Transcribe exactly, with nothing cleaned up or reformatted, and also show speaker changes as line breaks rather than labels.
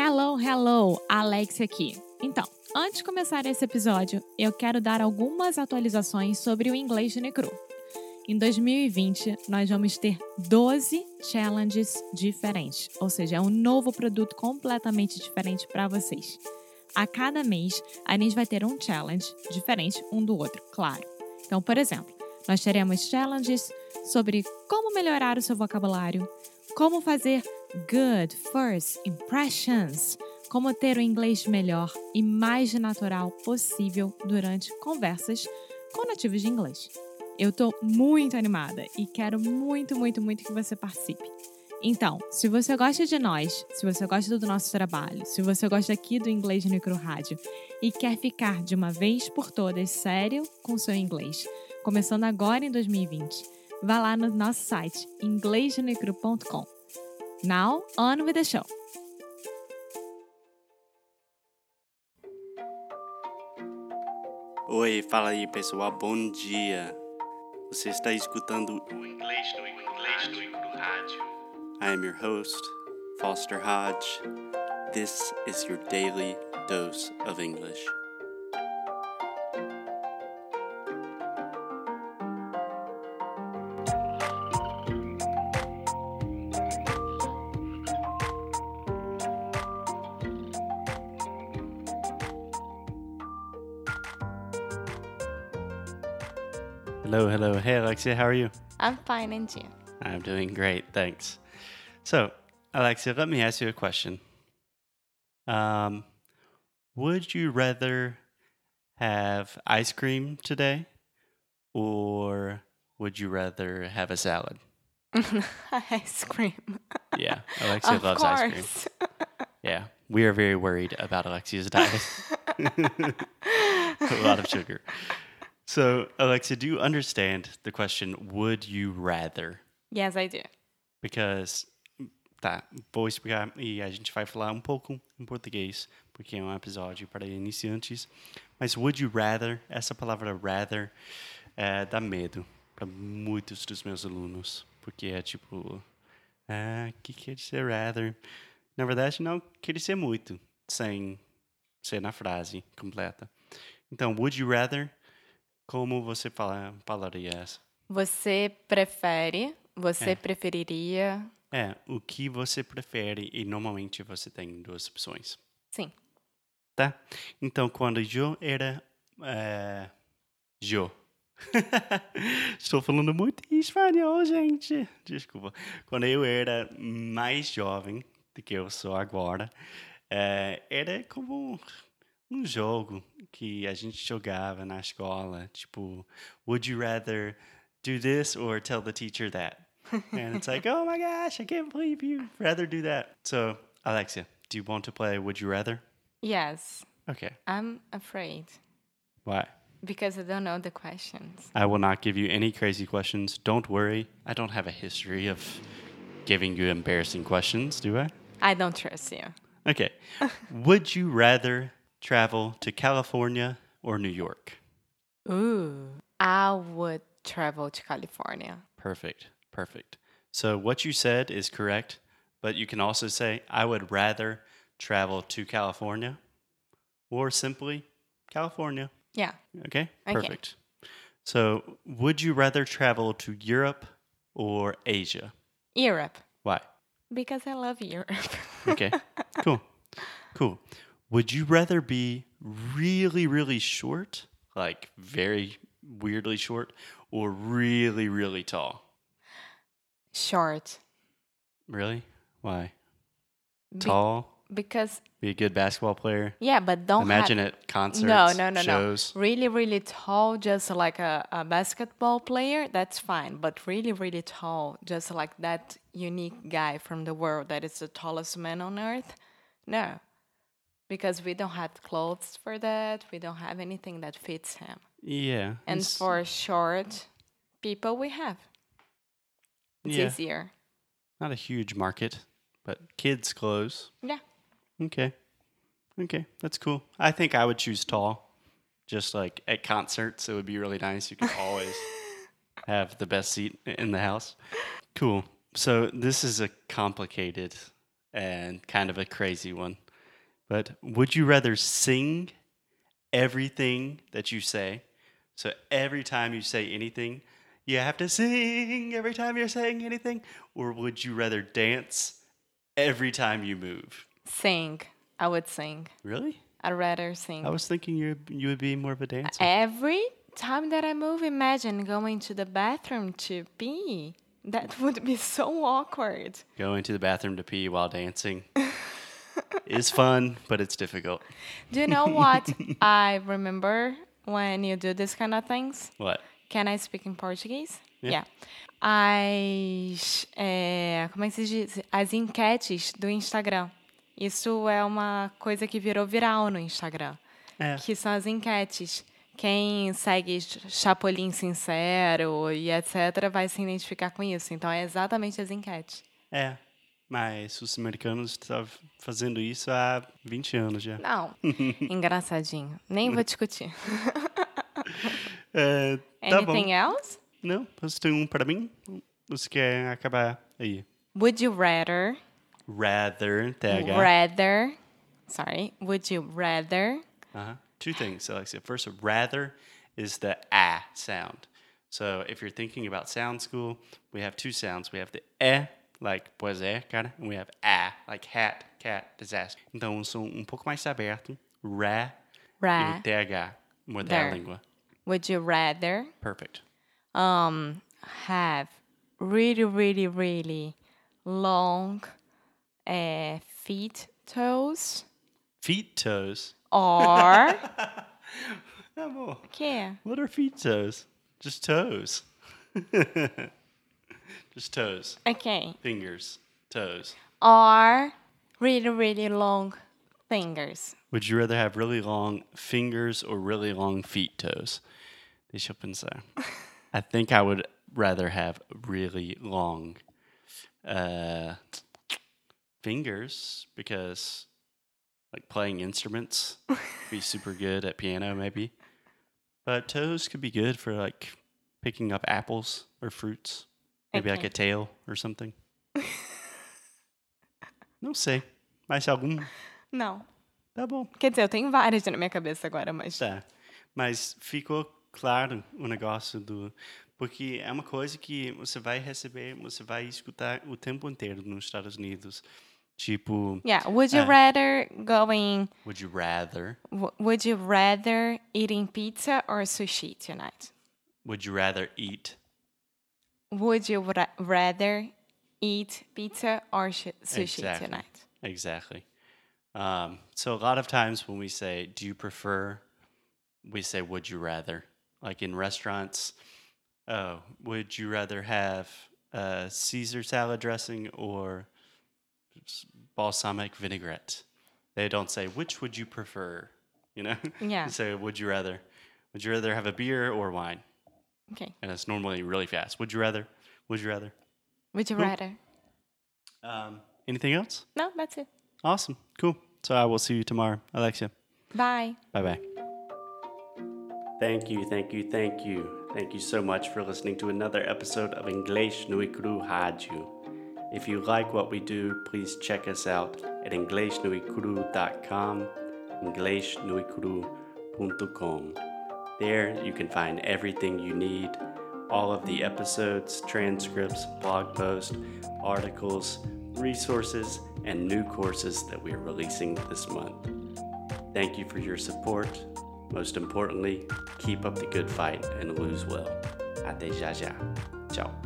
Hello, hello! Alexia aqui. Então, antes de começar esse episódio, eu quero dar algumas atualizações sobre o inglês de Necru. Em dois mil e vinte, nós vamos ter doze challenges diferentes, ou seja, é um novo produto completamente diferente para vocês. A cada mês, a gente vai ter um challenge diferente um do outro, claro. Então, por exemplo, nós teremos challenges sobre como melhorar o seu vocabulário, como fazer good first impressions, como ter o inglês melhor e mais natural possível durante conversas com nativos de inglês. Eu tô muito animada e quero muito, muito, muito que você participe. Então, se você gosta de nós, se você gosta do nosso trabalho, se você gosta aqui do Inglês de Necru Rádio e quer ficar de uma vez por todas sério com o seu inglês, começando agora em dois mil e vinte, vá lá no nosso site inglês de necru ponto com. Now, on with the show!
Oi, fala aí pessoal, bom dia. Você está escutando o Inglês no Inglês no Rádio. I am your host, Foster Hodge. This is your daily dose of English. Hello, hello. Hey, Alexia, how are you?
I'm fine, and you?
I'm doing great, thanks. So, Alexia, let me ask you a question. Um, would you rather have ice cream today, or would you rather have a salad?
Ice cream.
Yeah, Alexia
Of
loves ice cream.
course.
Yeah, we are very worried about Alexia's diet. A lot of sugar. So, Alexia, do you understand the question, would you rather?
Yes, I do.
Because, tá, vou explicar e a gente vai falar um pouco em português, porque é um episódio para iniciantes. Mas would you rather, essa palavra rather, é, dá medo para muitos dos meus alunos. Porque é tipo, ah, o que quer dizer rather? Na verdade, não quer dizer muito, sem ser na frase completa. Então, would you rather, como você fala, falaria essa?
Você prefere, você
É.
preferiria...
É, o que você prefere e normalmente você tem duas opções,
Sim.
tá? Então, quando eu era... É, eu. Estou falando muito em espanhol, gente. Desculpa. Quando eu era mais jovem do que eu sou agora, é, era como um jogo que a gente jogava na escola. Tipo, would you rather do this or tell the teacher that? And it's like, oh my gosh, I can't believe you rather do that. So, Alexia, do you want to play Would You Rather?
Yes.
Okay.
I'm afraid
Why?
because I don't know the questions.
I will not give you any crazy questions. Don't worry. I don't have a history of giving you embarrassing questions, do I?
I don't trust you.
Okay. Would you rather travel to California or New York?
Ooh. I would travel to California.
Perfect. Perfect. So what you said is correct, but you can also say, I would rather travel to California or simply California.
Yeah.
Okay?
Okay.
Perfect. So would you rather travel to Europe or Asia?
Europe.
Why?
Because I love Europe.
Okay. Cool. Cool. Would you rather be really, really short, like very weirdly short, or really, really tall?
Short.
Really? Why?
Be-
Tall?
because,
Be a good basketball player?
yeah, but don't
Imagine
have...
at concerts,
No, no, no,
shows.
no. Really, really tall, just like a, a basketball player, that's fine. But really, really tall, just like that unique guy from the world that is the tallest man on earth, no. Because we don't have clothes for that. We don't have anything that fits him.
Yeah.
And
it's-
for short people, we have. It's
yeah,
easier.
not a huge market, but kids' clothes.
Yeah.
Okay. Okay, that's cool. I think I would choose tall. Just like at concerts, it would be really nice. You could always have the best seat in the house. Cool. So this is a complicated and kind of a crazy one. But would you rather sing everything that you say? So every time you say anything, you have to sing every time you're saying anything? Or would you rather dance every time you move?
Sing. I would sing.
Really?
I'd rather sing.
I was thinking you you would be more of a dancer.
Every time that I move, imagine going to the bathroom to pee. That would be so awkward.
Going to the bathroom to pee while dancing is fun, but it's difficult.
Do you know what I remember when you do this kind of things?
What?
Can I speak in Portuguese?
Yeah.
As, é, como é que se diz? As enquetes do Instagram. Isso é uma coisa que virou viral no Instagram.
É.
Que são as enquetes. Quem segue Chapolin Sincero e etcétera vai se identificar com isso. Então, é exatamente as enquetes.
É, mas os americanos estão fazendo isso há vinte anos já.
Não, engraçadinho. Nem vou discutir.
É, tá
Anything
bom.
else?
Não, você tem um para mim? Você quer acabar aí?
Would you rather...
Rather, T H.
Rather... Sorry. Would you rather...
Uh-huh. Two things, Alexia. First, rather is the ah sound. So if you're thinking about sound school, we have two sounds. We have the eh, like pois é, cara, and we have ah, like hat, cat, disaster. Então, um som um pouco mais aberto, ra,
Ra.
e T H, mudar
There.
a língua.
Would you rather...
Perfect.
um have really, really, really long uh, feet toes
Feet toes.
or
Amor,
que?
what are feet toes? Just toes. Just toes.
Okay.
Fingers. Toes.
Or really, really long fingers.
Would you rather have really long fingers or really long feet toes? Deixa eu pensar. I think I would rather have really long uh, fingers because, like, playing instruments, be super good at piano maybe. But toes could be good for, like, picking up apples or fruits. Maybe like
Okay.
a tail or something. Não sei. Mais algum?
Não.
Tá bom.
Quer dizer, eu tenho várias na minha cabeça agora, mas...
Tá. Mas ficou claro o negócio do... Porque é uma coisa que você vai receber, você vai escutar o tempo inteiro nos Estados Unidos. Tipo,
Yeah, would you
Ah.
rather going...
would you rather?
w- Would you rather eating pizza or sushi tonight?
Would you rather eat?
Would you ra- rather eat pizza or sh- sushi
Exactly.
tonight?
Exactly. Um, so a lot of times when we say, do you prefer? We say, would you rather? Like in restaurants, oh, would you rather have uh, Caesar salad dressing or s- balsamic vinaigrette? They don't say, which would you prefer? You know?
Yeah.
They say, would you rather? Would you rather have a beer or wine?
Okay.
And it's normally really fast. Would you rather? Would you rather?
Would you
Cool.
rather?
Um, anything else?
No, that's it.
Awesome. Cool. So I will see you tomorrow. Alexia.
Bye.
Bye-bye. Thank you, thank you, thank you. Thank you so much for listening to another episode of Inglês no Icru Rádio. If you like what we do, please check us out at inglês no icru dot com, inglês no icru ponto com. There you can find everything you need, all of the episodes, transcripts, blog posts, articles, resources, and new courses that we are releasing this month. Thank you for your support. Most importantly, keep up the good fight and lose well. Até já já. Tchau.